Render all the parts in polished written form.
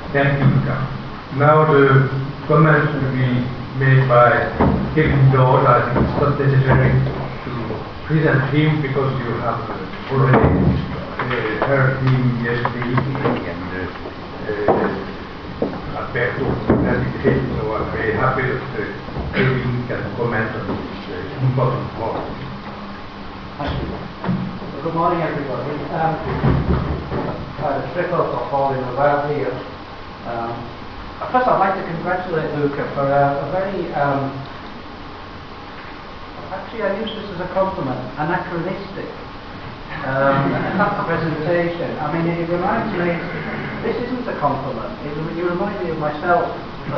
net income. Now the comments will be made by Kevin Dodd. I think it's not necessary to present him because you have already heard him yesterday evening and Alberto has it, so I'm very happy that Kevin can comment on this important point. Thank you. Well, good morning, everybody. The trip up or falling about here. First, I'd like to congratulate Luca for a very, actually I use this as a compliment, anachronistic presentation. I mean, it reminds me, this isn't a compliment, you remind me of myself.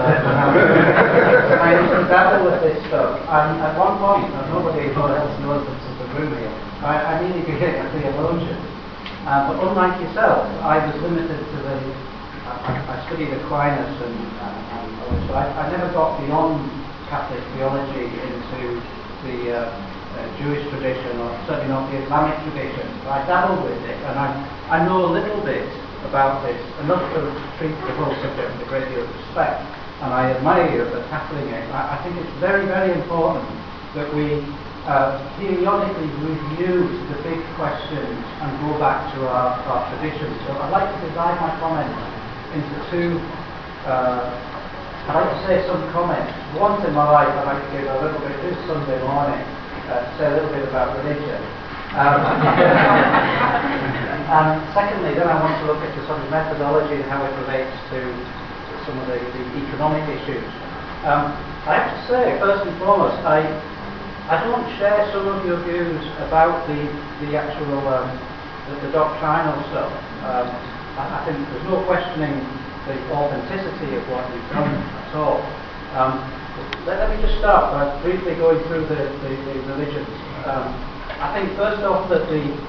I used to dabble with this stuff, and at one point, and nobody else knows this is the room here, I nearly became a theologian. But unlike yourself, I was limited to I studied Aquinas and so I never got beyond Catholic theology into the Jewish tradition, or certainly not the Islamic tradition. I dabbled with it, and I know a little bit about this, enough to treat the whole subject with a great deal of respect, and I admire you for tackling it. I think it's very, very important that we periodically review the big questions and go back to our traditions. So I'd like to divide my comments into two, I'd like to say some comments. Once in my life I'd like to give a little bit, this Sunday morning, say a little bit about religion. And secondly, then I want to look at the sort of methodology and how it relates to some of the economic issues. I have to say, first and foremost, I don't share some of your views about the actual, the doctrinal stuff. I think there's no questioning the authenticity of what you've done at all. Let me just start by briefly going through the religions. I think first off that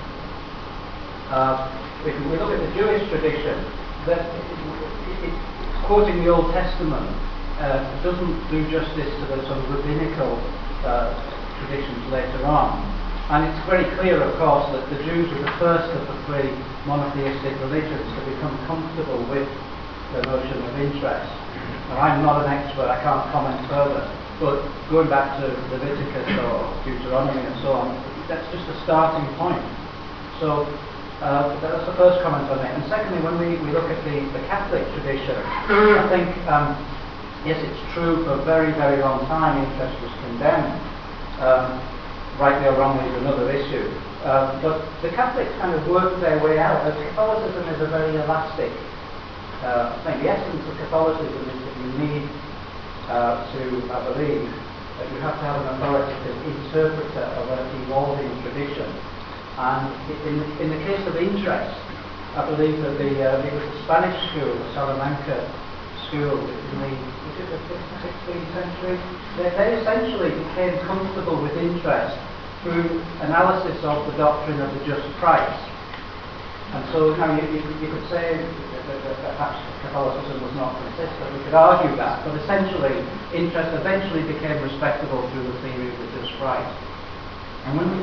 if we look at the Jewish tradition, that quoting the Old Testament doesn't do justice to the sort of rabbinical traditions later on. And it's very clear, of course, that the Jews were the first of the three monotheistic religions to become comfortable with the notion of interest. Now, I'm not an expert, I can't comment further, but going back to Leviticus or Deuteronomy and so on, that's just a starting point. So that's the first comment on it. And secondly, when we look at the Catholic tradition, I think, yes, it's true, for a very, very long time interest was condemned. Rightly or wrongly is another issue. But the Catholics kind of worked their way out. Catholicism is a very elastic thing. The essence of Catholicism is that you need to believe that you have to have an authoritative interpreter of an evolving tradition. And in the case of interest, I believe that it was the Spanish school, the Salamanca school, in the 16th century, they essentially became comfortable with interest through analysis of the doctrine of the just price. And so now you could say that perhaps Catholicism was not consistent, we could argue that, but essentially interest eventually became respectable through the theory of the just price. And when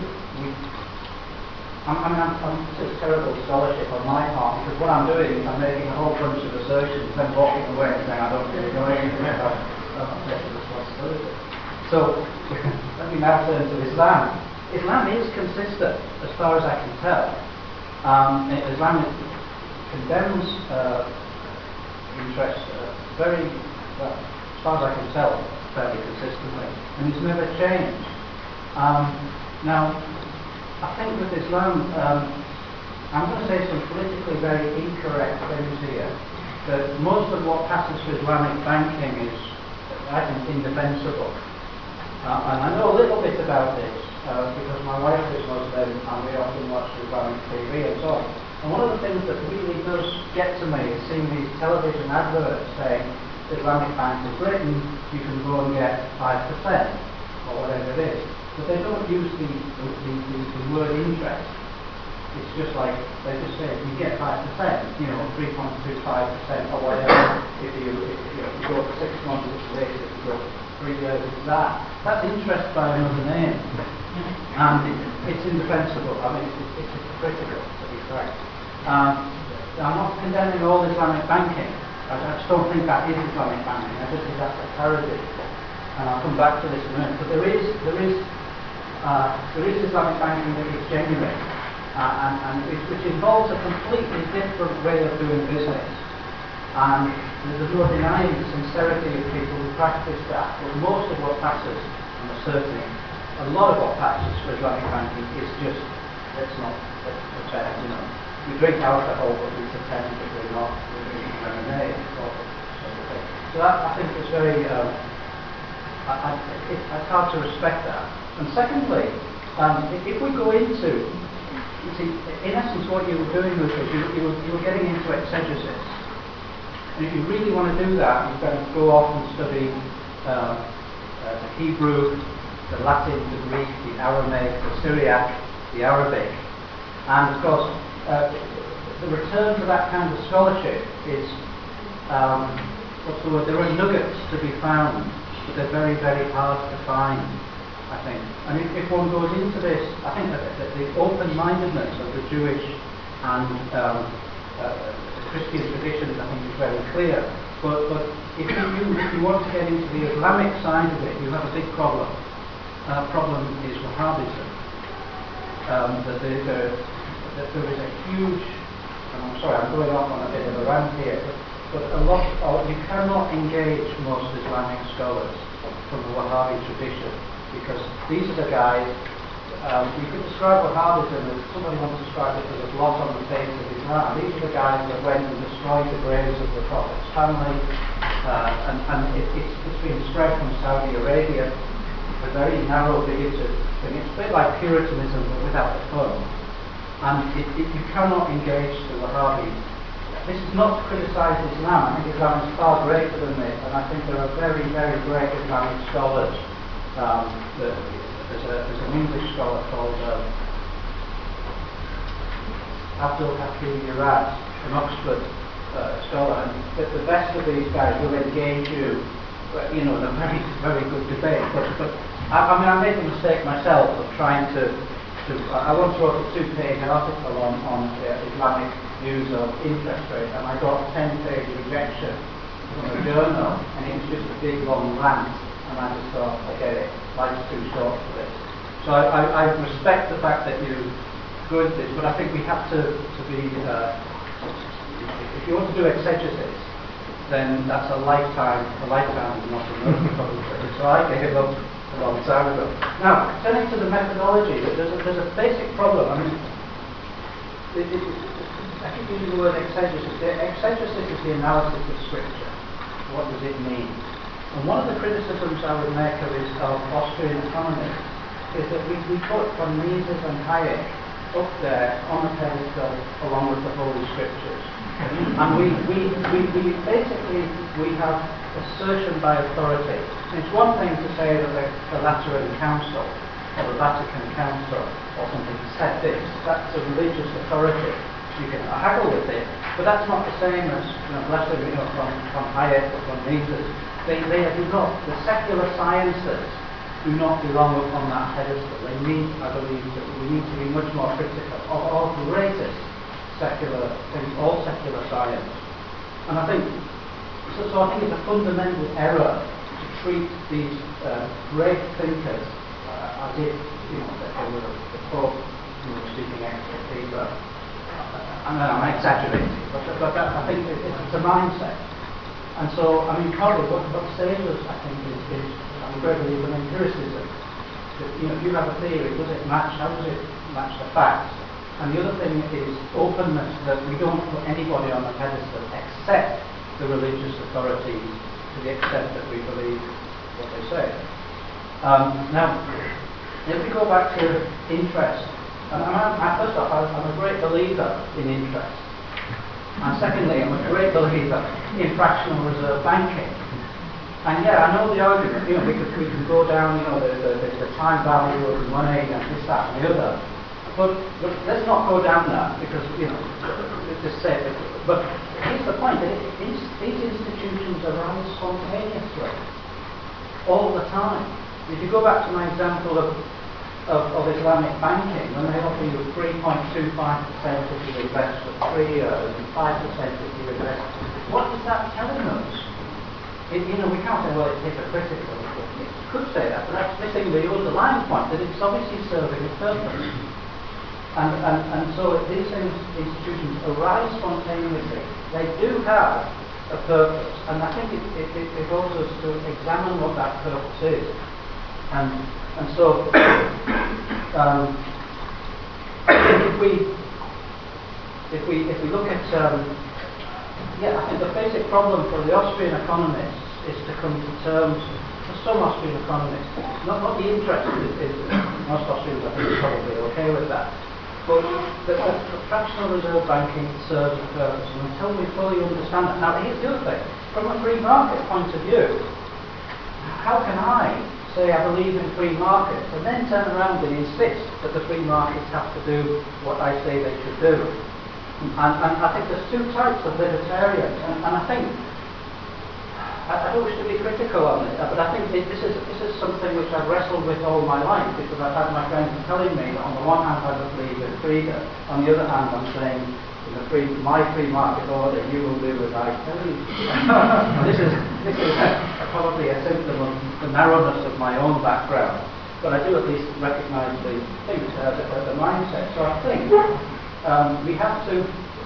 it's terrible scholarship on my part, because what I'm doing is I'm making a whole bunch of assertions, then walking away and saying I don't really know anything about taking responsibility. So let me now turn to Islam. Islam is consistent, as far as I can tell. Islam condemns interest very, well, as far as I can tell, fairly consistently, and it's never changed. Now, I think with Islam, I'm going to say some politically very incorrect things here, that most of what passes for Islamic banking is, I think, indefensible. And I know a little bit about this, because my wife is Muslim and we often watch Islamic TV and so on. And one of the things that really does get to me is seeing these television adverts saying Islamic Bank of Britain, you can go and get 5% or whatever it is. But they don't use the word interest. It's just like, they just say, you get 5%, 3.25% or whatever. If you go for 6 months, it's this. If you go for 3 years, it's that. That's interest by another name. And it's indefensible. I mean, it's hypocritical, to be frank. I'm not condemning all Islamic banking, I just don't think that is Islamic banking. I just think that's a parody. And I'll come back to this in a minute. But there is Islamic banking that is genuine, and which involves a completely different way of doing business. And there's no denying the sincerity of people who practice that. But most of what passes, and certainly a lot of what passes for Islamic banking is just, let's pretend, we drink alcohol, but we pretend that we're not, we're drinking lemonade, or sort of thing. So that, I think, is very, it's hard to respect that. And secondly, if we go into, you see, in essence what you were doing with it, you were getting into exegesis. And if you really want to do that, you've got to go off and study the Hebrew, the Latin, the Greek, the Aramaic, the Syriac, the Arabic. And of course, the return to that kind of scholarship is, what's the word, there are nuggets to be found, but they're very, very hard to find, I think. And if one goes into this, I think that the open-mindedness of the Jewish and Christian traditions, I think, is very clear. But if you want to get into the Islamic side of it, you have a big problem. And that problem is Wahhabism. That there is a huge, and I'm sorry, I'm going off on a bit of a rant here, but you cannot engage most Islamic scholars from the Wahhabi tradition, because these are the guys. You could describe Wahhabism as, somebody once described it as a blot on the face of Islam. These are the guys that went and destroyed the graves of the Prophet's family, and it's been spread from Saudi Arabia, a very narrow, bigoted thing. It's a bit like Puritanism, but without the fun. And you cannot engage the Wahhabis. This is not to criticise Islam. I think Islam is far greater than this, and I think there are very, very great Islamic scholars. There's an English scholar called Abdul Hakim Murad, an Oxford scholar, and the best of these guys will engage you, in a very, very good debate. But I made the mistake myself of trying to I once wrote a 2-page article on Islamic views of interest rate, and I got a 10-page rejection from a journal, and it was just a big long rant. And I just thought, forget it, life's too short for this. So I respect the fact that you go into this, but I think we have to be, if you want to do exegesis, then that's a lifetime is not enough probably. So I gave up a long time ago. Now, turning to the methodology, there's a basic problem. I mean, I keep using the word exegesis. Exegesis is the analysis of Scripture. What does it mean? And one of the criticisms I would make of Austrian economy is that we put von Mises and Hayek up there on the pedestal along with the Holy Scriptures. And we basically have assertion by authority. It's one thing to say that the Lateran Council or the Vatican Council or something said this. That's a religious authority. You can haggle with it, but that's not the same as, bless them, from Hayek or from Mises. They do not. The secular sciences do not belong upon that pedestal. They need, I believe, that we need to be much more critical of our greatest secular things, all secular science. And I think, so I think it's a fundamental error to treat these great thinkers as if, that they were the Pope, speaking ex cathedra. I'm exaggerating, but I think it's a mindset. And so, I mean, partly what saves us, I think, is I'm a great believer in empiricism. That, if you have a theory, does it match? How does it match the facts? And the other thing is openness, that we don't put anybody on the pedestal except the religious authorities to the extent that we believe what they say. Now, if we go back to interest, and first off, I'm a great believer in interest. And secondly, I'm a great believer in fractional reserve banking. And yeah, I know the argument, we can go down, the time value of the money and this, that and the other. But let's not go down that because, it's just say it. But here's the point, these institutions arise spontaneously, all the time. If you go back to my example of Islamic banking, when they offer you 3.25% if you invest for 3 years and 5% if you invest what is that telling us? We can't say, well, it's hypocritical. You could say that, but that's missing the underlying point, that it's obviously serving a purpose. And so these institutions arise spontaneously. They do have a purpose, and I think it behoves us to examine what that purpose is. And so, if we look at, I think the basic problem for the Austrian economists is to come to terms, for some Austrian economists, not the interest is most Austrians I think are probably okay with that, but the fractional reserve banking serves a purpose, and until we fully understand that. Now here's the other thing, from a free market point of view, how can I say I believe in free markets and then turn around and insist that the free markets have to do what I say they should do? And I think there's two types of libertarians, and I think, I don't wish to be critical on it, but I think this is something which I've wrestled with all my life, because I've had my friends telling me that on the one hand I believe in freedom, on the other hand I'm saying, in my free market order, you will do as I tell you. This is probably a symptom of the narrowness of my own background, but I do at least recognise the mindset. So I think we have to,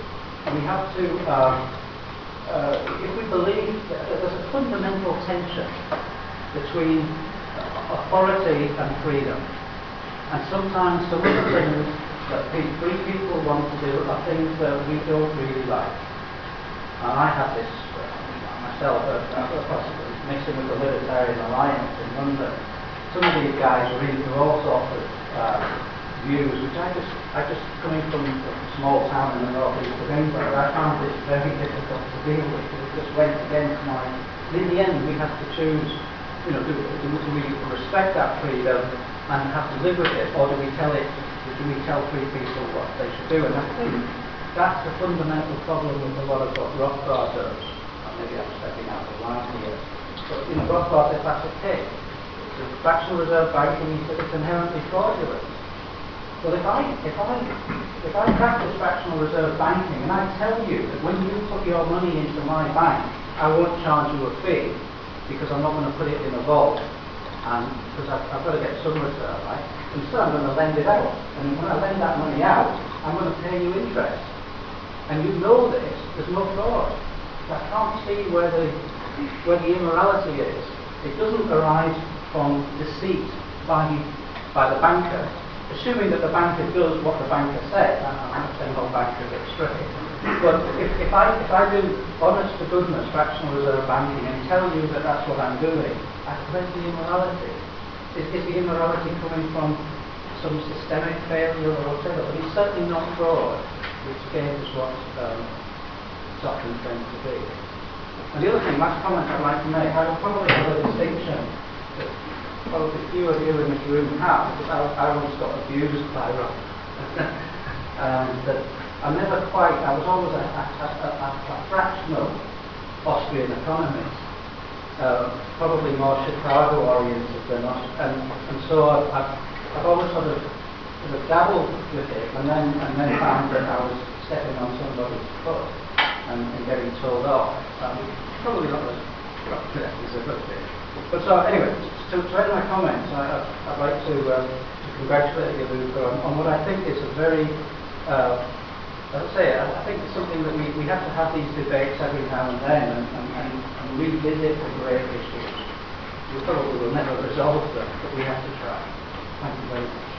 if we believe that there's a fundamental tension between authority and freedom, and sometimes some of the things that free people want to do are things that we don't really like. And I have this myself, possibly mixing with the Libertarian Alliance in London. Some of these guys are into all sorts of views, which I just coming from a small town in the northeast of England, I found this very difficult to deal with. It just went against my. In the end, we have to choose. Do we respect that freedom and have to live with it, or do we tell free people what they should do? And I think that's the fundamental problem with a lot of what Rothbard does. Maybe I'm stepping out of line here, but Rothbard says that's okay. The fractional reserve banking, he said it's inherently fraudulent. Well, if I practice fractional reserve banking and I tell you that when you put your money into my bank, I won't charge you a fee because I'm not going to put it in a vault, and because I've got to get some return, right? Instead, I'm going to lend it out, and when I lend that money out, I'm going to pay you interest. And you know this. There's no fraud. I can't see where the immorality is. It doesn't arise from deceit by the banker. Assuming that the banker does what the banker says, I'm not saying all bankers are straight, but if I do honest to goodness fractional reserve banking and tell you that that's what I'm doing, where's the immorality? Is the immorality coming from some systemic failure or whatever? But it's certainly not fraud, which again is what it's often claimed to be. And the other thing, last comment I'd like to make, I would probably have a distinction that probably few of you in this room have, because I once got abused by Rob. That I was always a fractional Austrian economist, probably more Chicago oriented than us, and so I've always sort of dabbled with it, and then found that I was stepping on somebody's foot and getting told off. Probably not as a good thing. But so anyway, to end my comments, I'd like to congratulate you, Luca, on what I think is a very, as I say, I think it's something that we have to have these debates every now and then and revisit the great issues. We probably will never resolve them, but we have to try. Thank you very much.